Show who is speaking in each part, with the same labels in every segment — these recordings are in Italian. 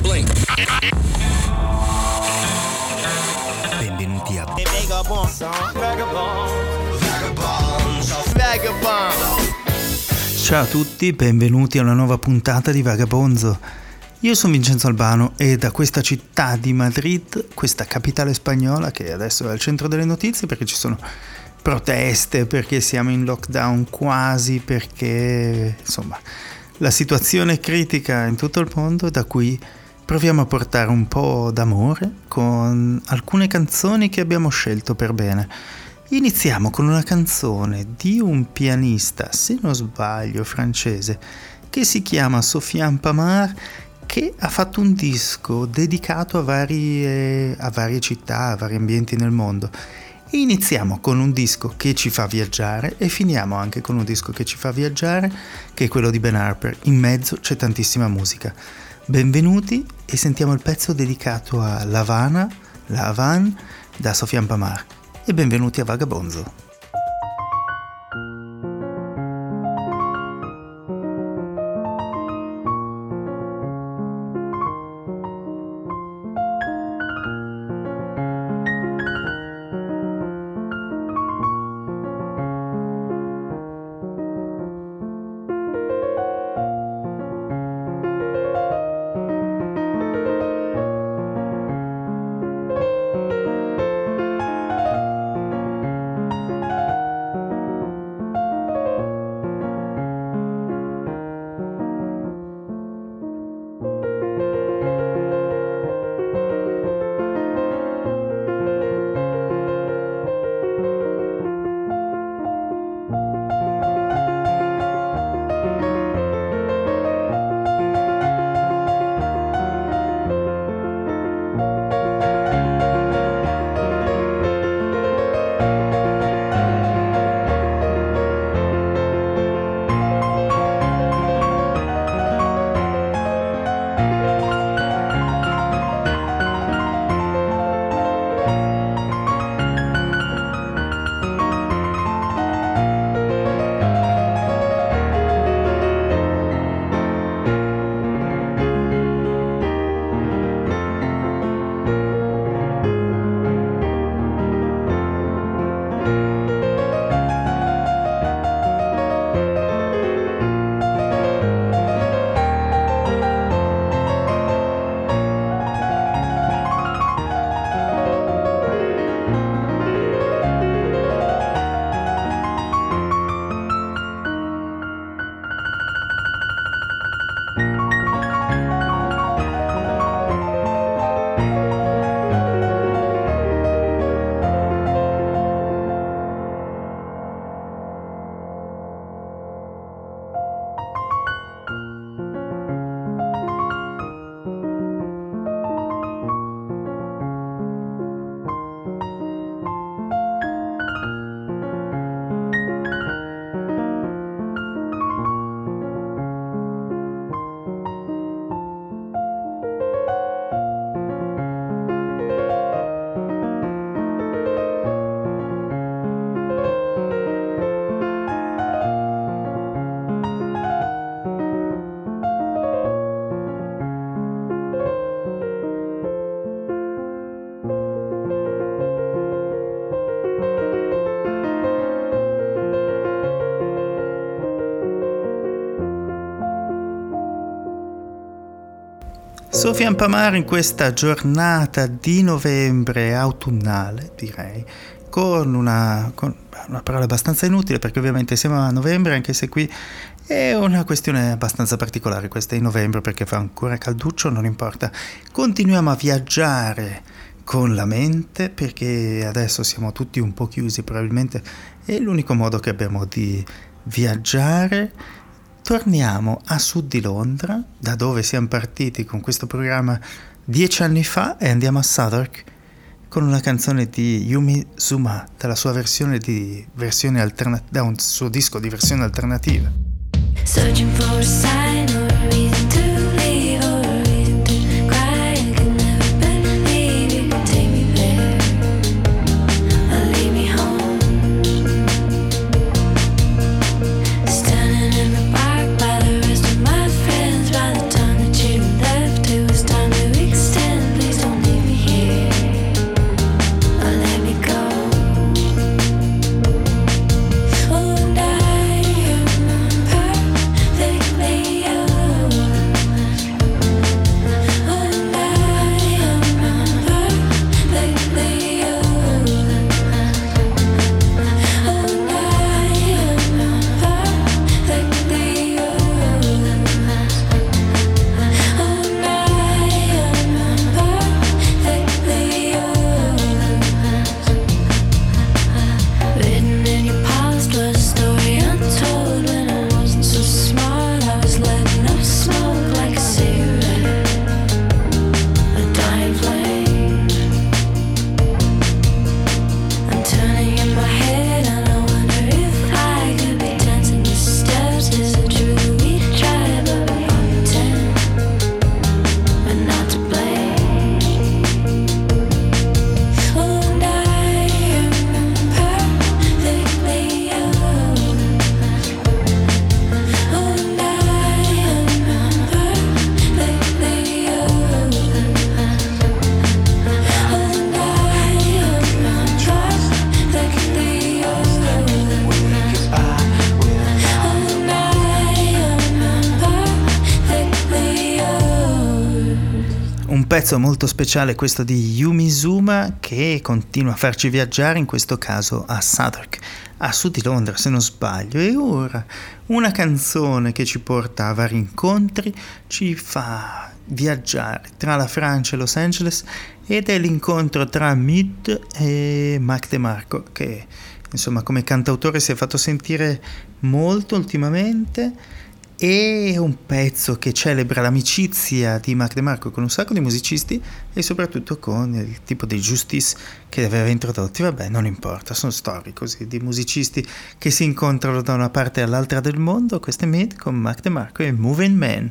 Speaker 1: Blink.
Speaker 2: Benvenuti a Ciao a tutti, benvenuti a una nuova puntata di Vagabonzo. Io sono Vincenzo Albano e da questa città di Madrid, questa capitale spagnola che adesso è al centro delle notizie perché ci sono proteste, perché siamo in lockdown quasi, perché insomma la situazione è critica in tutto il mondo, da cui proviamo a portare un po' d'amore con alcune canzoni che abbiamo scelto per bene. Iniziamo con una canzone di un pianista, se non sbaglio, francese, che si chiama Sofiane Pamart, che ha fatto un disco dedicato a varie città, a vari ambienti nel mondo. E iniziamo con un disco che ci fa viaggiare e finiamo anche con un disco che ci fa viaggiare, che è quello di Ben Harper. In mezzo c'è tantissima musica. Benvenuti e sentiamo il pezzo dedicato a La Havana da Sofiane Pamart. E benvenuti a Vagabonzo. Sofiane Pamart in questa giornata di novembre autunnale, direi, con una parola abbastanza inutile perché ovviamente siamo a novembre, anche se qui è una questione abbastanza particolare, questa è in novembre perché fa ancora calduccio, non importa, continuiamo a viaggiare con la mente perché adesso siamo tutti un po' chiusi, probabilmente è l'unico modo che abbiamo di viaggiare. Torniamo a sud di Londra, da dove siamo partiti con questo programma 10 anni fa, e andiamo a Southwark con una canzone di Yumi Zuma, dalla sua da un suo disco di versione alternativa.
Speaker 3: Searching for a sign or a reason to leave or a reason to cry. I could never believe you could take me there or leave me home. Standing in the park by the rest of my friends. By the time that you left, it was time to
Speaker 2: Un pezzo molto speciale questo di Yumi Zouma, che continua a farci viaggiare, in questo caso a Southwark, a sud di Londra se non sbaglio. E ora una canzone che ci porta a vari incontri, ci fa viaggiare tra la Francia e Los Angeles, ed è l'incontro tra Mid e Mac DeMarco, che insomma come cantautore si è fatto sentire molto ultimamente. È un pezzo che celebra l'amicizia di Mac DeMarco con un sacco di musicisti e soprattutto con il tipo di Justice che li aveva introdotti. Vabbè, non importa, sono storie così di musicisti che si incontrano da una parte all'altra del mondo. Questo è Mid con Mac DeMarco e Moving Man.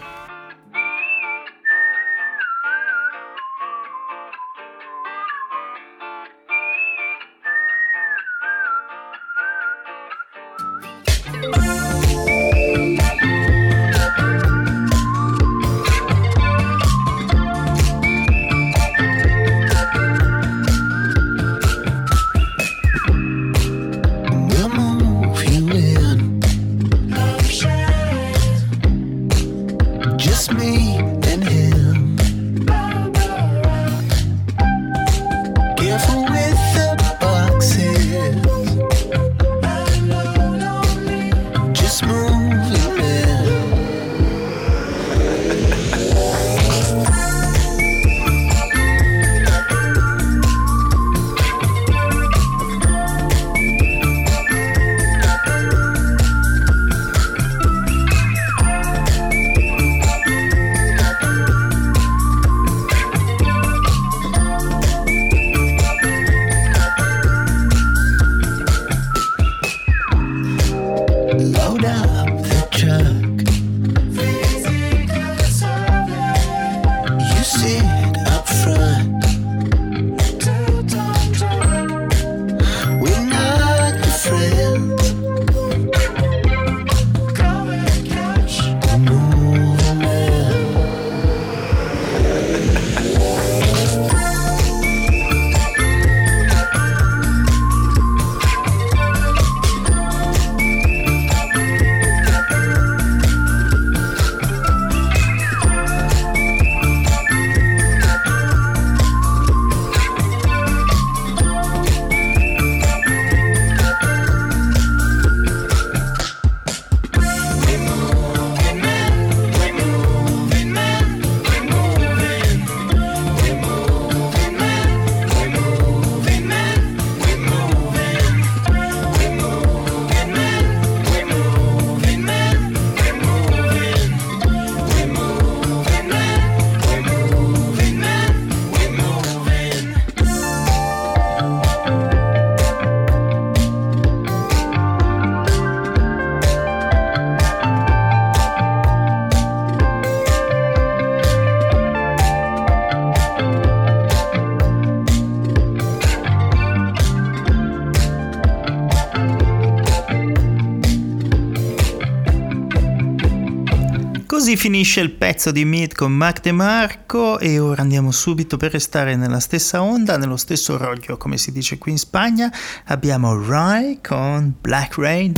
Speaker 2: Così finisce il pezzo di Mid con Mac DeMarco e ora andiamo subito, per restare nella stessa onda, nello stesso roglio come si dice qui in Spagna. Abbiamo Rai con Black Rain.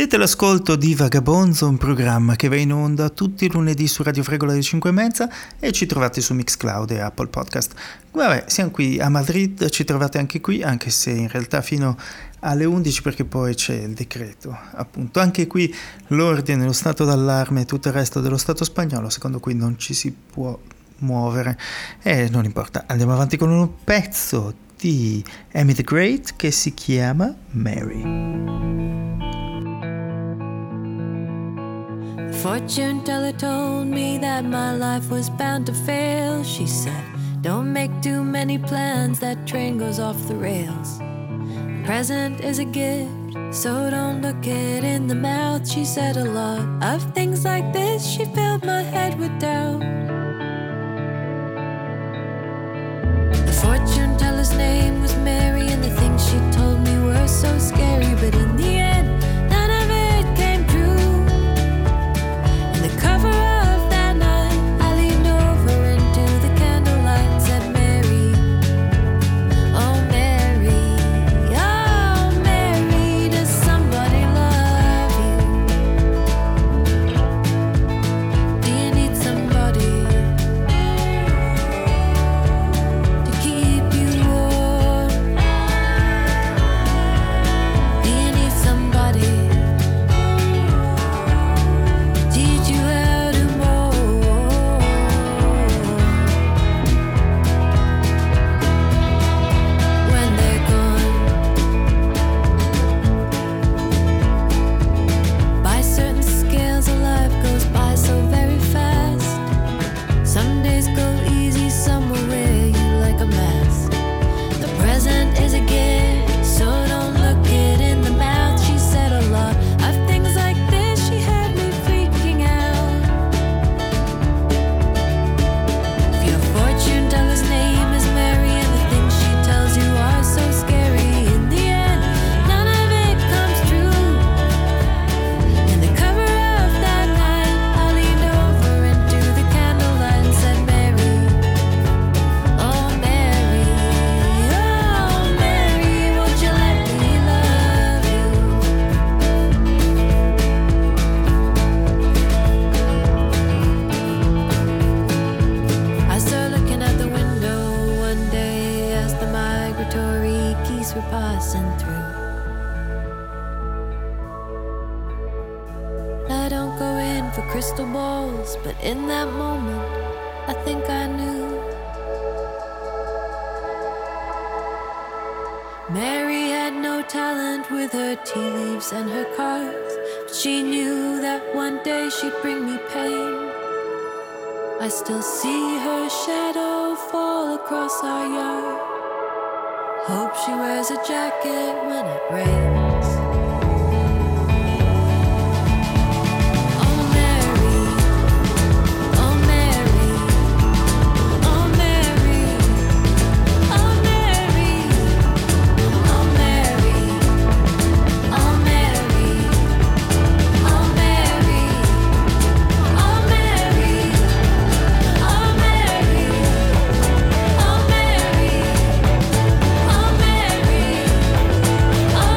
Speaker 2: Siete all'ascolto di Vagabonzo, un programma che va in onda tutti i lunedì su Radio Fregola alle 5:30 e ci trovate su Mixcloud e Apple Podcast. Vabbè, siamo qui a Madrid, ci trovate anche qui, anche se in realtà fino alle 11 perché poi c'è il decreto, appunto. Anche qui l'ordine, lo stato d'allarme e tutto il resto dello Stato spagnolo, secondo cui non ci si può muovere e non importa. Andiamo avanti con un pezzo di Amy the Great che si chiama Mary.
Speaker 1: Fortune teller told me that my life was bound to fail. She said, don't make too many plans, that train goes off the rails. Present is a gift, so don't look it in the mouth. She said a lot of things like this, she filled my head with doubt. The fortune teller's name was Mary, and the things she told me were so scary, but in the end none of it came true. In the cover of that night I leaned over into the candlelight and said, Mary, oh Mary, oh Mary, does somebody love you? Do you need somebody to keep you warm? Do you need somebody to teach you how to mourn? When they're gone, by certain scales of life goes by so very fast. Some days go easy, some will wear you like a mask. The present is a gift, so don't look it in the mouth. She said a lot of things like this, she had me freaking out. If your fortune teller's name is Mary, and the things she tells you are so scary, in the end none of it comes true. In the cover of that night I leaned over into the candlelight and said, Mary, oh Mary, won't you let me love you? I saw her looking out the window one day as the migratory geese were passing through. I don't go in for crystal balls, but in that moment I think I knew. Mary had no talent with her tea leaves and her cards, but she knew that one day she'd bring me pain. I still see her shadow fall across our yard. Hope she wears a jacket when it rains. Oh Mary, oh Mary, oh Mary, oh Mary, oh Mary, oh Mary, oh Mary, oh Mary, oh Mary, oh Mary, oh Mary, oh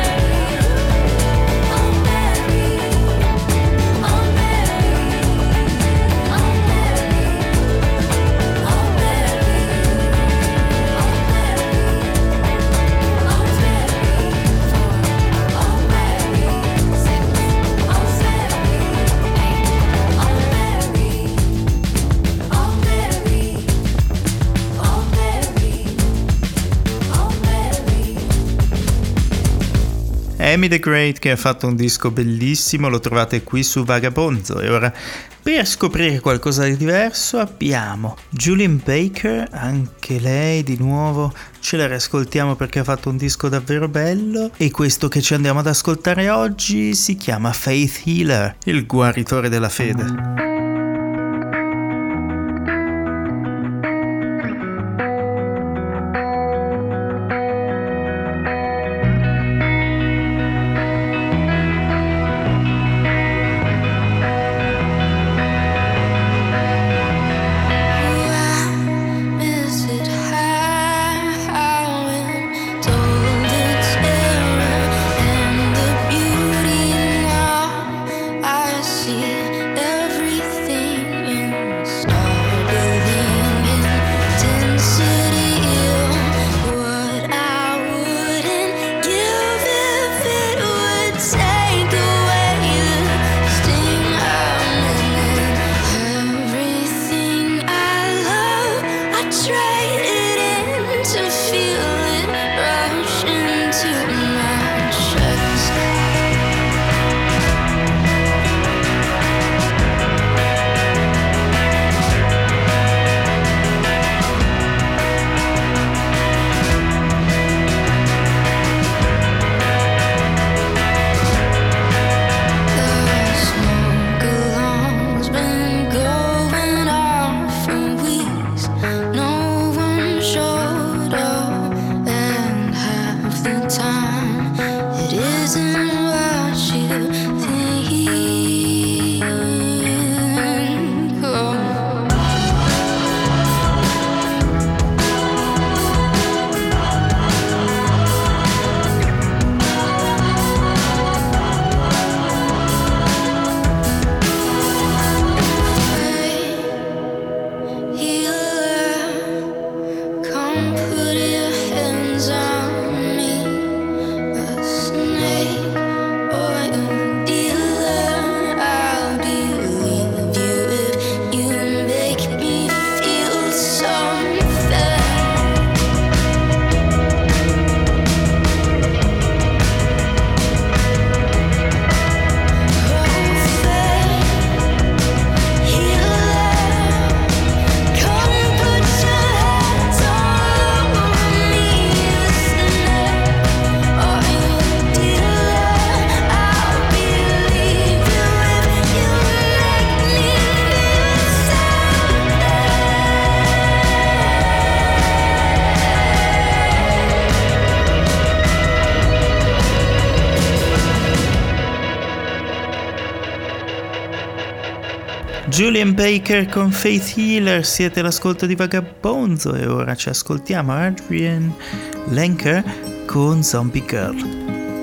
Speaker 2: Amy the Great, che ha fatto un disco bellissimo, lo trovate qui su Vagabonzo. E ora, per scoprire qualcosa di diverso, abbiamo Julien Baker, anche lei di nuovo ce la riascoltiamo perché ha fatto un disco davvero bello, e questo che ci andiamo ad ascoltare oggi si chiama Faith Healer, il guaritore della fede.
Speaker 3: Told its error and the beauty
Speaker 2: Julian Baker con Faith Healer, siete all'ascolto di Vagabonzo e ora ci ascoltiamo Adrian Lenker con Zombie Girl.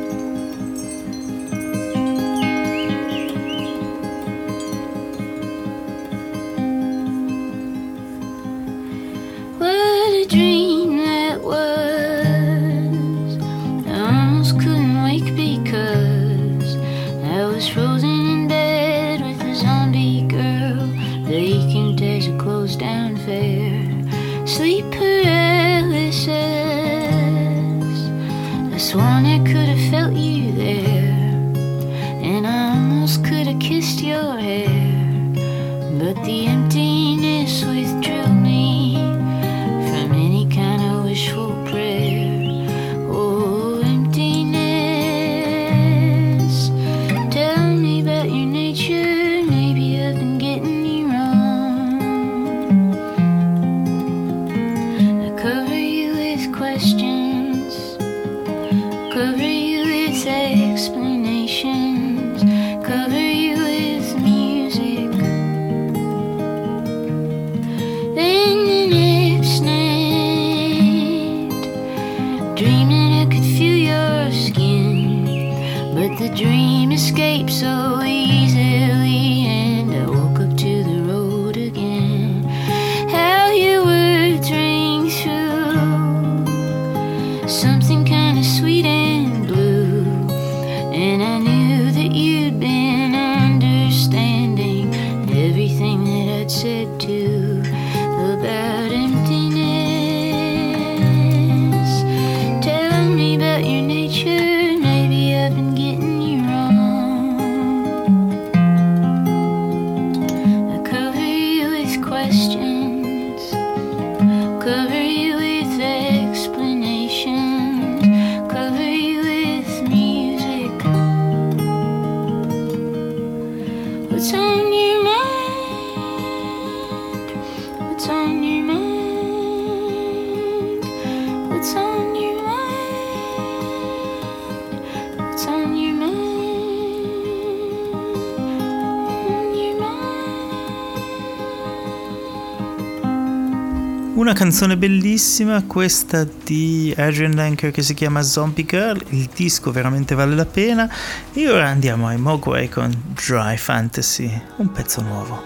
Speaker 2: Una canzone bellissima, questa di Adrian Lenker che si chiama Zombie Girl, il disco veramente vale la pena. E ora andiamo ai Mogwai con Dry Fantasy, un pezzo nuovo.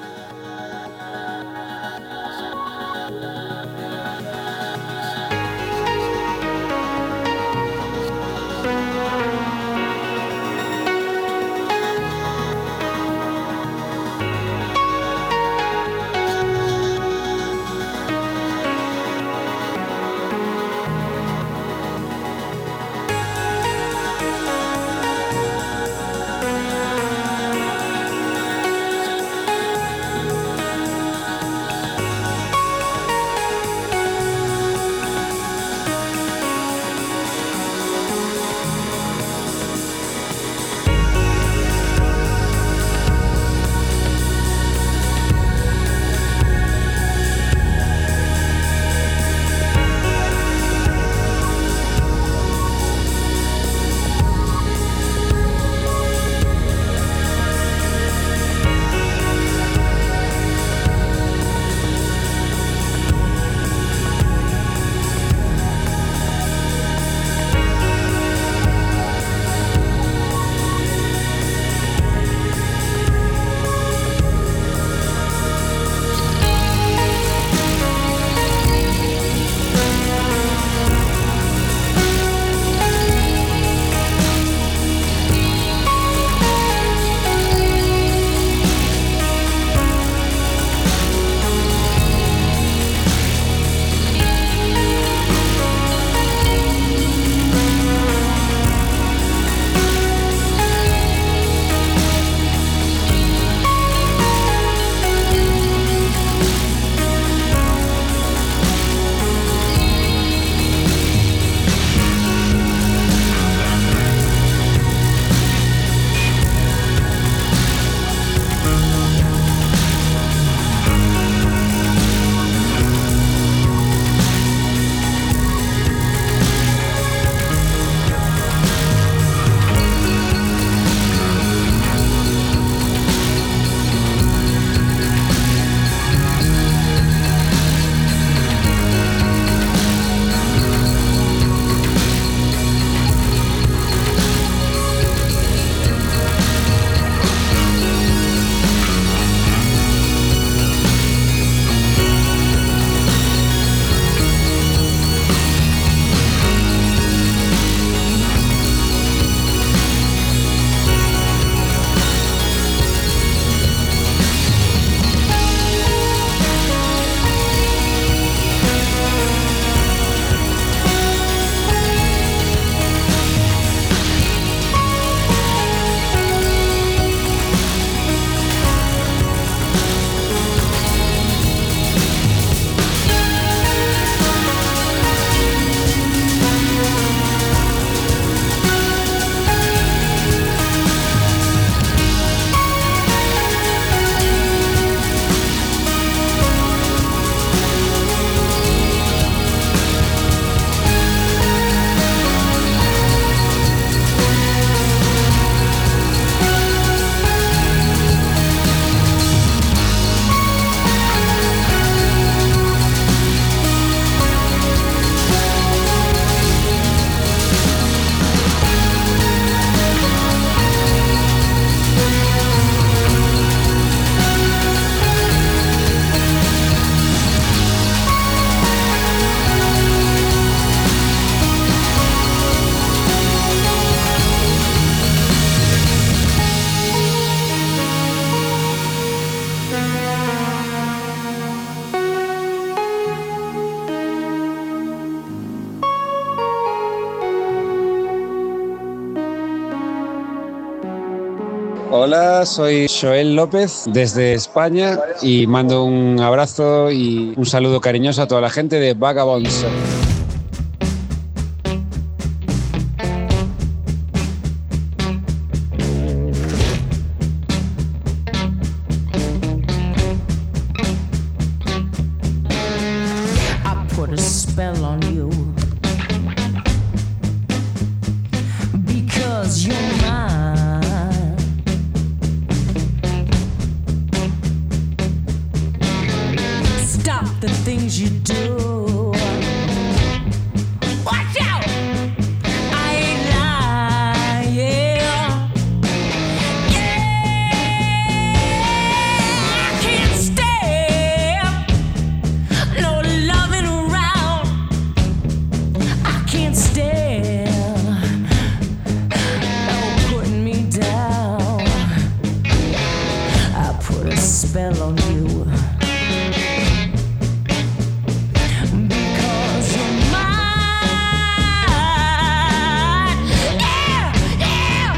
Speaker 4: Hola, soy Joel López desde España y mando un abrazo y un saludo cariñoso a toda la gente de Vagabonds.
Speaker 5: I put a spell on you because you're mine. Stop the things you do. Watch out! I ain't lying. Yeah, I can't stand no loving around. I can't stand no putting me down. I put a spell on you because you're mine. Yeah, yeah.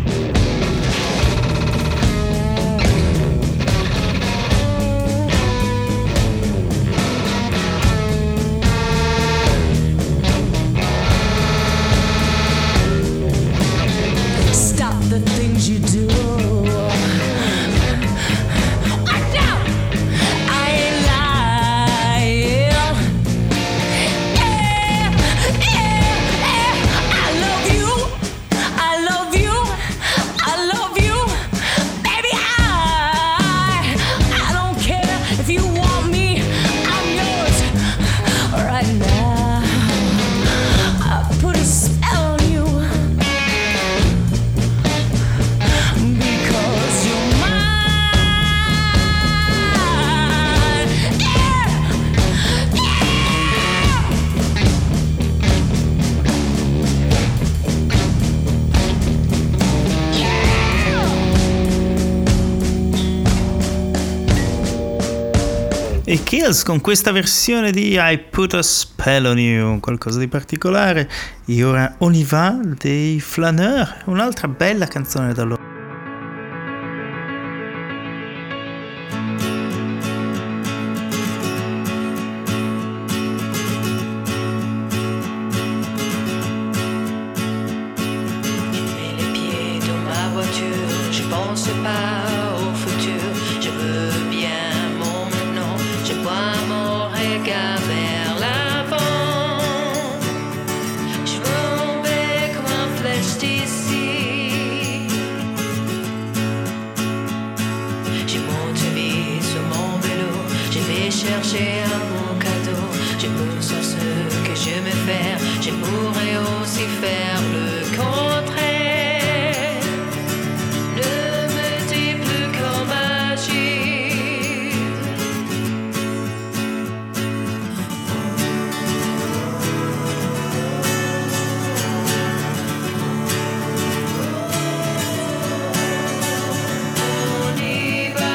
Speaker 5: Stop the things you do. Watch out! I ain't lying. Yeah, yeah, yeah. I love you. I love you. I love you. Baby, I don't care if you want me. I'm yours right now. I put a spell on you because you're mine. Yeah,
Speaker 2: E Kills con questa versione di I Put a Spell on You, qualcosa di particolare. E ora On y va dei Flaneurs, un'altra bella canzone da loro.
Speaker 6: Mets les pieds dans ma voiture, je pense pas au futur. Je veux bien mon maintenant, je vois mon regard vers l'avant. Je veux tomber comme une flèche d'ici. Je monte vite sur mon vélo, je vais chercher un bon cadeau. Je peux sur ce que je me fais, je pourrais aussi faire le contraire. Ne me dis plus comment agir. On y va.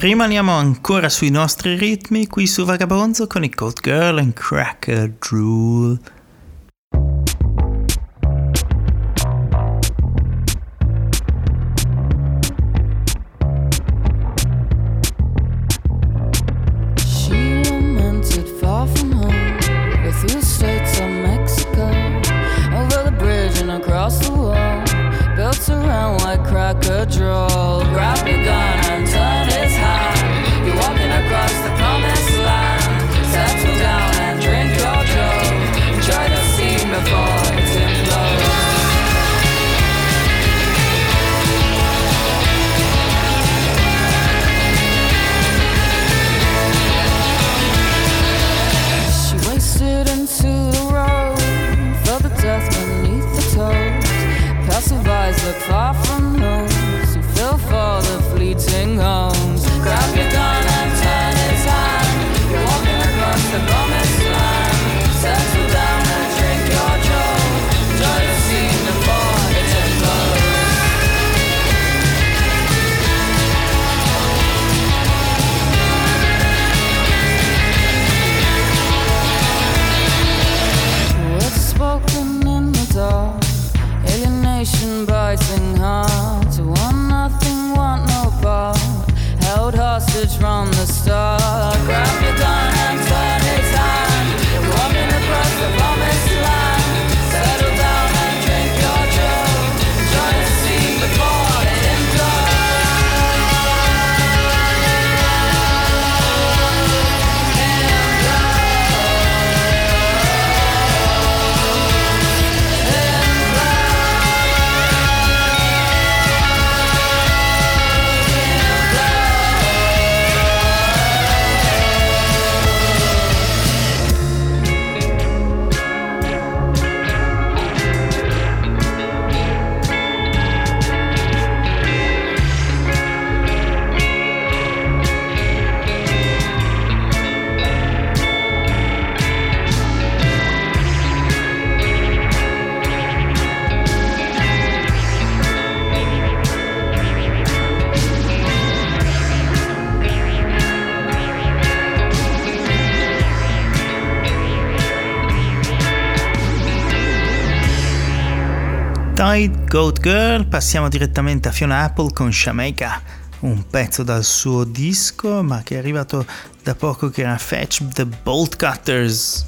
Speaker 2: Rimaniamo ancora sui nostri ritmi qui su Vagabonzo con i Goat Girl and Cracker Drool.
Speaker 7: She lamented far from home, but through the states of Mexico, over the bridge and across the wall, built around like cracker droll. Grab your gun and turn it high. You're walking across the promised land. Settle down and drink your joe. Enjoy the scene before it's implodes. She wasted into the road, felt the death beneath the toes. Passive eyes look far from those who fell for the fleeting homes. Grab your gun and turn it on. You're walking across the promised land. Settle down and drink your joe. Enjoy the scene before it explodes. Words spoken in the dark, alienation biting hard. To want nothing, want no part, held hostage from the start. Grab your gun and turn it on. You're walking across the promised land. Settle down and drink your joe. Enjoy the scene before it implodes.
Speaker 2: Tight Goat Girl, passiamo direttamente a Fiona Apple con Jamaica, un pezzo dal suo disco ma che è arrivato da poco, che era Fetch the Bolt Cutters.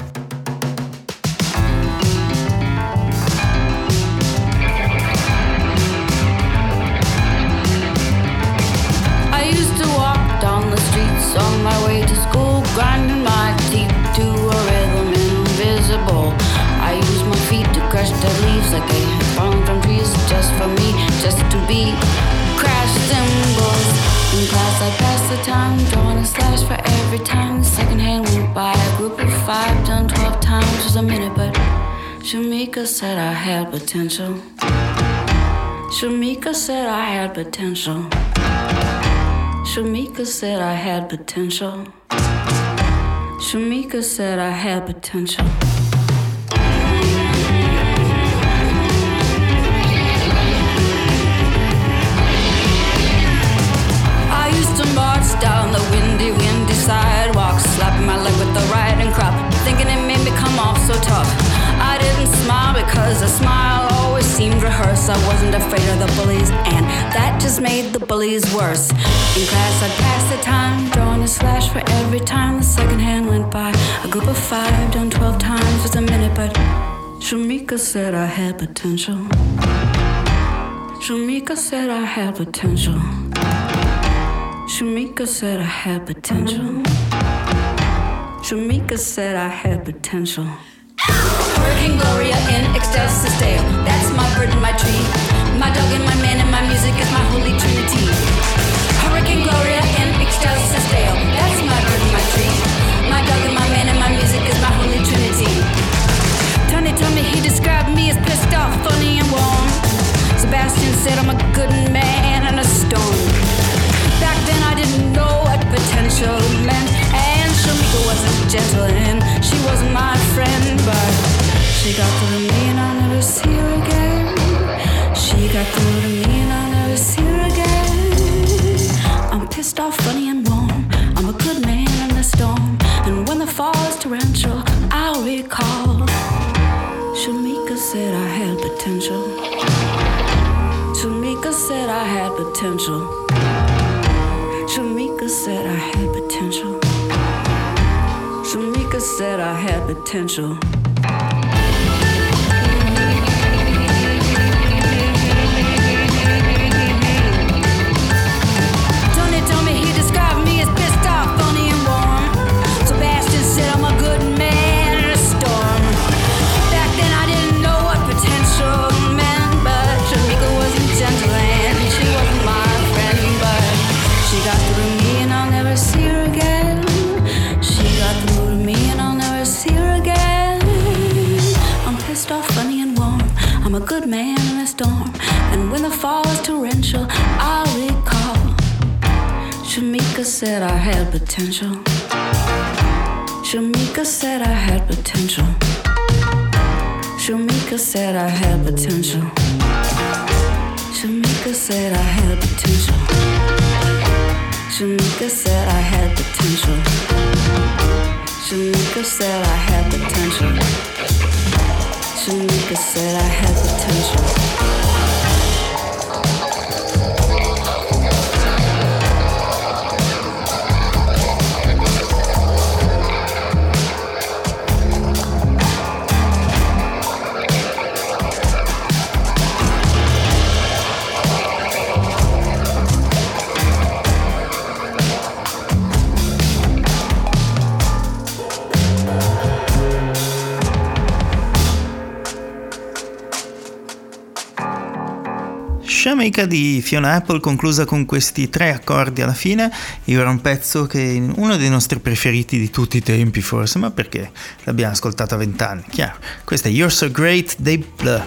Speaker 7: I used to walk down the streets on my way to school, grinding my teeth to a rhythm invisible. I used my feet to crush dead leaves like they had fallen from trees, just for me, just to be crash cymbals. In class I passed the time, drawing a slash for every time the second hand went by. A group of 5 done 12 times was a minute, but Shamika said I had potential. Shamika said I had potential. Shamika said I had potential. Shamika said I had potential. I used to march down the windy sidewalk, slapping my leg with the riding crop, thinking it made me come off so tough. I didn't smile because a smile always seemed rehearsed. I wasn't afraid of the bullies, and that just made the bullies worse. In class I'd pass the time, drawing a slash for every time the second hand went by. A group of 5 done 12 times was a minute, but Shamika said I had potential. Shamika said I had potential. Shamika said I had potential. Shamika said I had potential. Hurricane Gloria in ecstasis dale. That's my bird and my tree. My dog and my man and my music is my holy trinity. Hurricane Gloria in ecstasis dale. That's my bird and my tree. My dog and my man and my music is my holy trinity. Tony told me he described me as pissed off, funny and warm. Sebastian said I'm a good man in a storm. Back then I didn't know what potential meant, and Shamika wasn't gentle and she wasn't my friend, but she got through to me and I'll never see her again. She got through to me and I'll never see her again. I'm pissed off, I'll recall. Shamika said I had potential. Shamika said I had potential. Shamika said I had potential. Shamika said I had potential. Tony told me he described me as pissed off, funny and warm. Sebastian said I'm a good man in a storm. Back then I didn't know what potential meant, but Shamika wasn't gentle and she wasn't my friend, but she got through to me and I'll never see her again. She got through to me and I'll never see her again. I'm pissed off, funny and warm. I'm a good man in a storm, and when the fall is torrential, I'll recall. Shamika said I had potential. Shamika said I had potential. Shamika said I had potential. Shamika said I had potential. Shamika said I had potential. Shamika said I had potential. Shamika said I had potential.
Speaker 2: Shamika di Fiona Apple, conclusa con questi 3 accordi alla fine. Era un pezzo che è uno dei nostri preferiti di tutti i tempi forse, ma perché l'abbiamo ascoltato a 20 anni, chiaro. Questa è You're So Great dei Blur.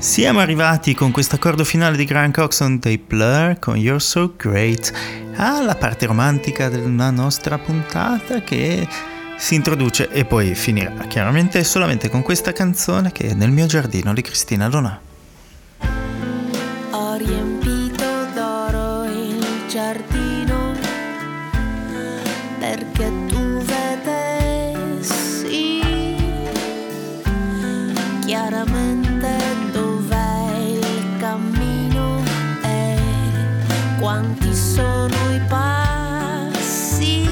Speaker 2: Siamo arrivati con questo accordo finale di Grant Coxon dei Blur con You're So Great alla parte romantica della nostra puntata, che si introduce e poi finirà chiaramente solamente con questa canzone che è Nel mio giardino di Cristina Donà.
Speaker 1: Ho riempito d'oro il giardino perché tu vedessi chiaramente dov'è il cammino e quanti sono i passi.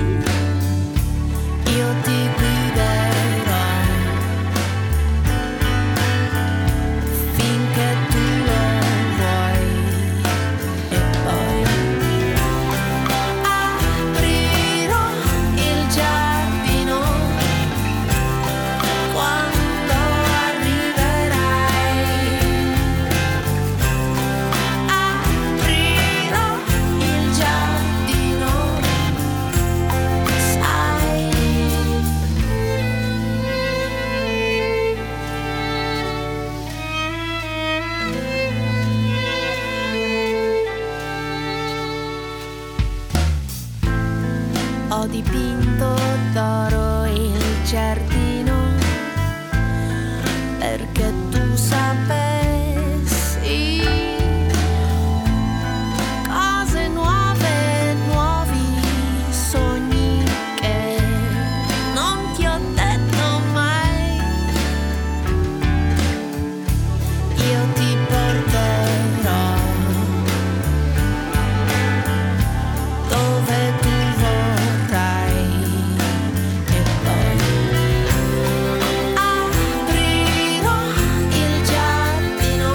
Speaker 1: Io ti guiderò finché tu lo vuoi e poi aprirò il giardino quando arriverai. Aprirò il giardino, sai. Ho dipinto d'oro il giardino perché tu sapessi cose nuove, nuovi sogni che non ti ho detto mai. Io ti porterò dove tu vorrai e poi aprirò il giardino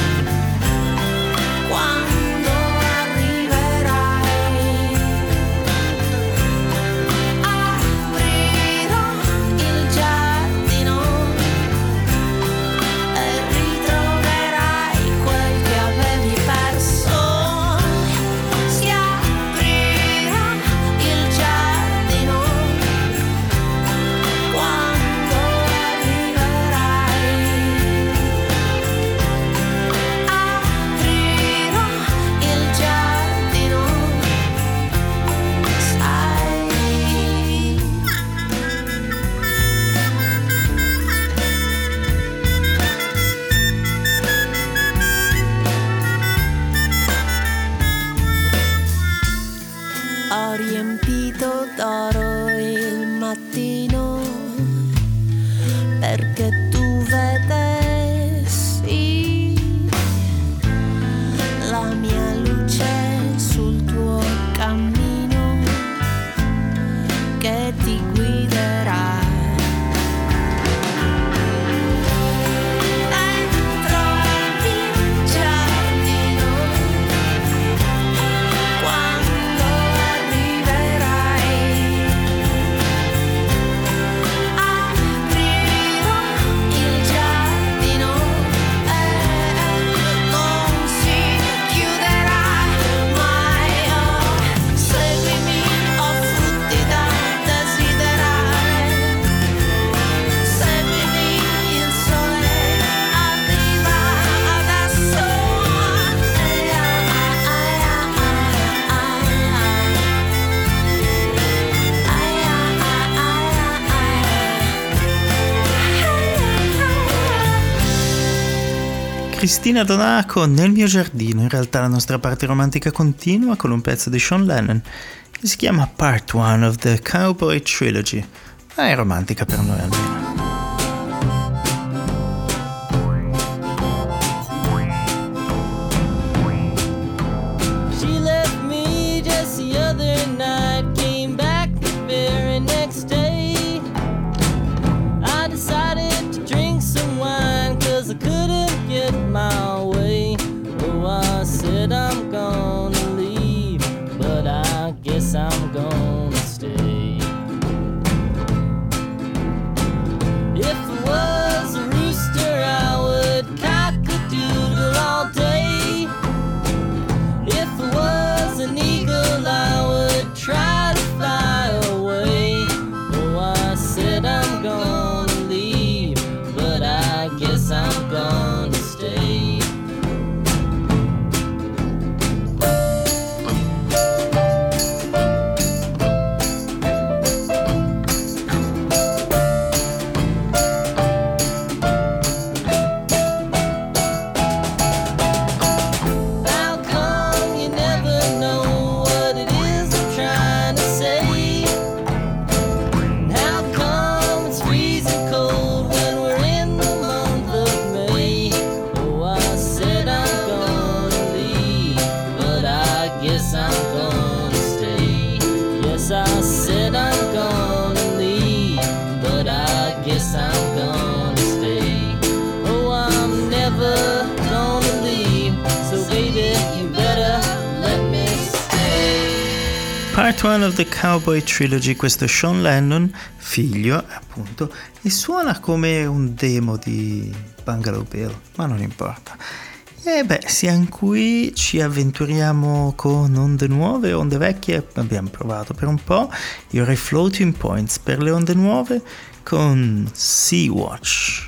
Speaker 1: quando arriverai. Aprirò il giardino e ritroverai quel che avevi perso. Si aprirà il giardino quando arriverai. Aprirò il giardino, sai. Ho riempito d'oro il mattino perché tu vedessi la mia luce sul tuo cammino che ti guiderà. Dentro il giardino quando arriverai. Aprirò il giardino e non si chiuderà mai. Oh, seguimi, ho frutti da desiderare. Seguimi, il sole arriva adesso.
Speaker 2: Cristina Donà con Nel mio giardino. In realtà la nostra parte romantica continua con un pezzo di Sean Lennon che si chiama Part 1 of the Cowboy Trilogy. Ma è romantica per noi almeno.
Speaker 8: She left me just the other night, came back the very next day. I decided to drink some wine, 'cause I couldn't get my way. Oh, I said I'm gonna leave, but I guess I'm gonna stay.
Speaker 2: One of the Cowboy Trilogy, questo è Sean Lennon, figlio appunto, e suona come un demo di Bungalow Bill, ma non importa. E beh, siamo qui, ci avventuriamo con onde nuove, onde vecchie, abbiamo provato per un po', io avrei Floating Points per le onde nuove con Sea-Watch.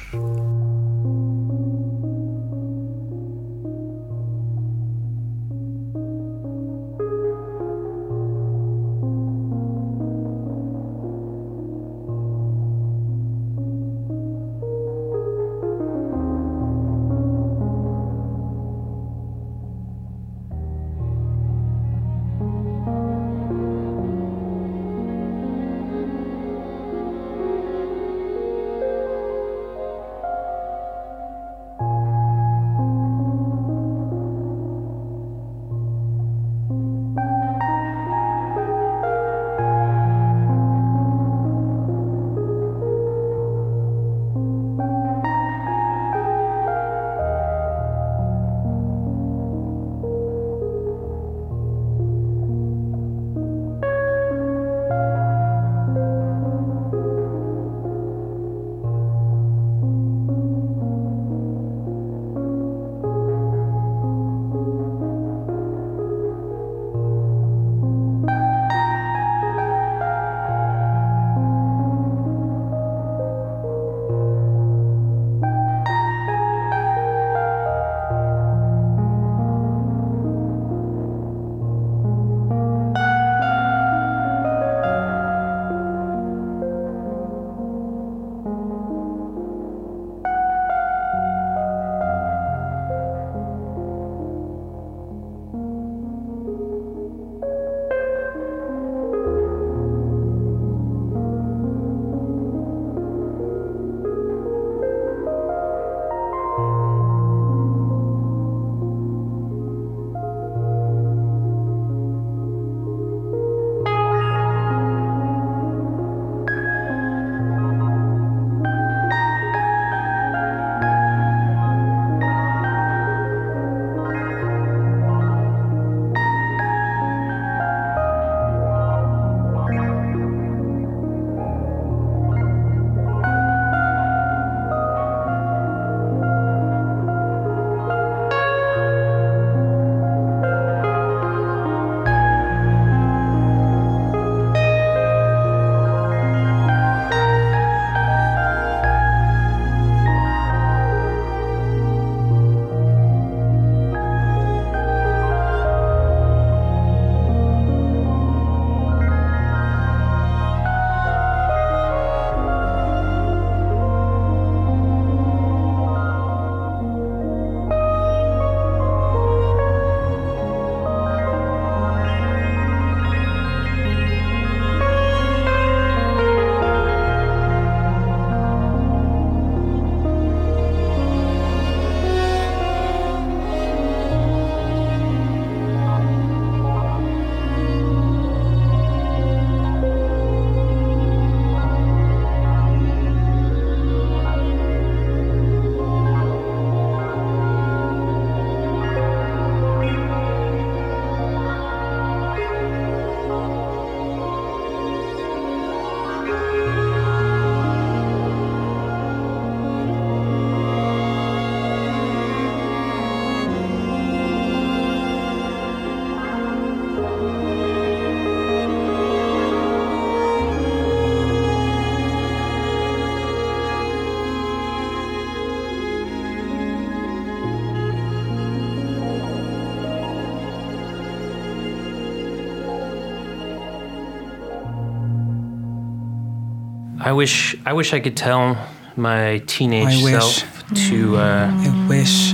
Speaker 9: I wish I could tell my teenage self to.
Speaker 10: I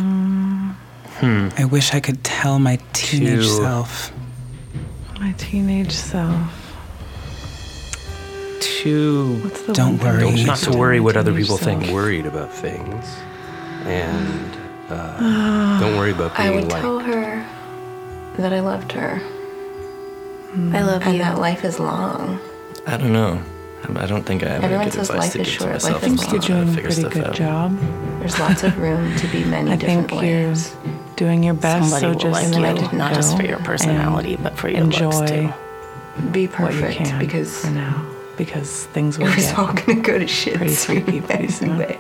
Speaker 10: wish I could tell my teenage self.
Speaker 11: My teenage self.
Speaker 10: Don't worry.
Speaker 9: Not to worry what other people think.
Speaker 12: Worried about things, and don't worry about being
Speaker 13: I would
Speaker 12: liked.
Speaker 13: tell her that I loved her.
Speaker 14: I love
Speaker 13: and
Speaker 14: you.
Speaker 13: that life is long.
Speaker 9: I don't know. I don't think I have
Speaker 13: Everyone
Speaker 9: any good
Speaker 13: says
Speaker 9: advice
Speaker 13: life
Speaker 9: to
Speaker 13: is
Speaker 9: give to
Speaker 13: short,
Speaker 9: myself.
Speaker 13: life is
Speaker 11: I think you're doing a pretty good job.
Speaker 13: There's lots of room to be many different ways.
Speaker 11: Doing your best.
Speaker 14: Somebody
Speaker 11: So
Speaker 14: will
Speaker 11: just
Speaker 14: like
Speaker 11: let
Speaker 14: you,
Speaker 11: it
Speaker 14: not just
Speaker 11: go
Speaker 14: for your personality,
Speaker 11: and
Speaker 14: but for your looks
Speaker 11: enjoy
Speaker 14: too.
Speaker 13: be
Speaker 11: what you
Speaker 13: perfect
Speaker 11: can
Speaker 13: because
Speaker 11: for now, because things will
Speaker 13: it was
Speaker 11: get
Speaker 13: all gonna go to shit
Speaker 11: pretty freaky pretty soon.
Speaker 13: anyway.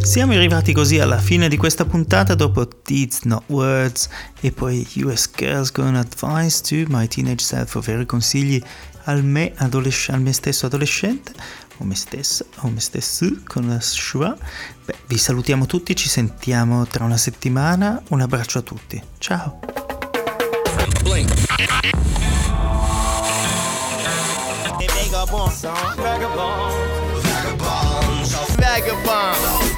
Speaker 2: Siamo arrivati così alla fine di questa puntata dopo Deeds Not Words e poi US Girls con Advice to My Teenage Self, ovvero consigli al me stesso adolescente o me stessa o me stesso con la Shua. Vi salutiamo tutti, ci sentiamo tra una settimana, un abbraccio a tutti, ciao.
Speaker 8: Vagabond.